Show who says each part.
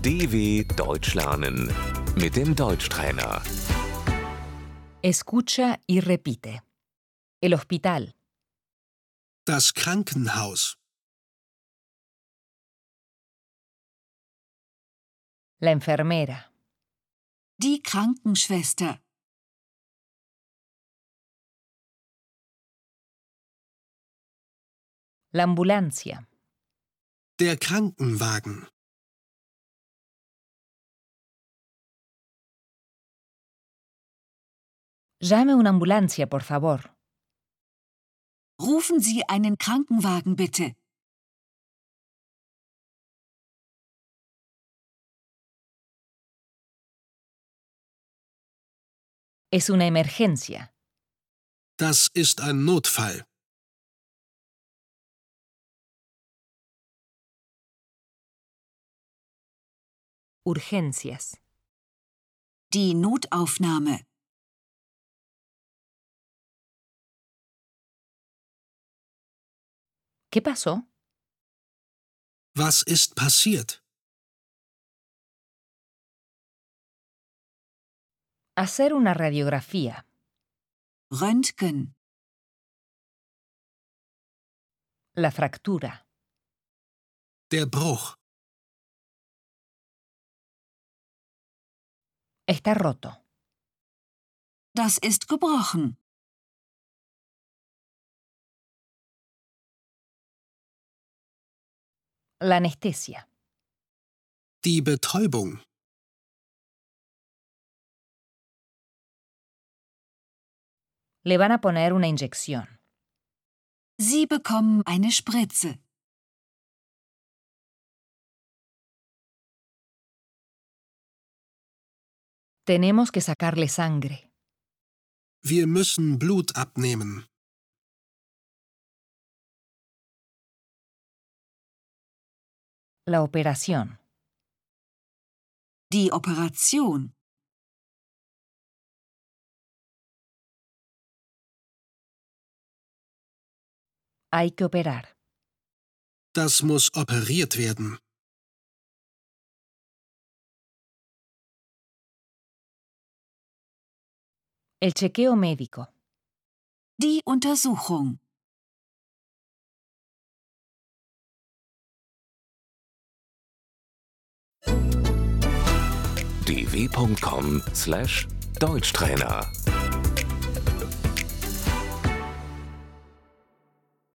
Speaker 1: DW Deutsch lernen mit dem Deutschtrainer.
Speaker 2: Escucha y repite. El hospital,
Speaker 3: Das Krankenhaus.
Speaker 2: la enfermera,
Speaker 4: Die Krankenschwester.
Speaker 2: la ambulancia,
Speaker 3: Der Krankenwagen.
Speaker 2: llame una ambulancia, por favor.
Speaker 4: Rufen Sie einen Krankenwagen bitte.
Speaker 2: Es una emergencia.
Speaker 3: Das ist ein Notfall.
Speaker 2: Urgencias.
Speaker 4: Die Notaufnahme.
Speaker 2: ¿Qué pasó?
Speaker 3: Was ist passiert?
Speaker 2: Hacer una radiografía.
Speaker 4: Röntgen.
Speaker 2: La fractura.
Speaker 3: Der Bruch.
Speaker 2: Está roto.
Speaker 4: Das ist gebrochen.
Speaker 2: La anestesia.
Speaker 3: Die Betäubung.
Speaker 2: Le van a poner una inyección.
Speaker 4: Sie bekommen eine Spritze.
Speaker 2: Tenemos que sacarle sangre.
Speaker 3: Wir müssen Blut abnehmen.
Speaker 2: La operación.
Speaker 4: Die Operation.
Speaker 2: Hay que operar.
Speaker 3: Das muss operiert werden.
Speaker 2: El chequeo médico.
Speaker 4: Die Untersuchung.
Speaker 1: dw.com/Deutschtrainer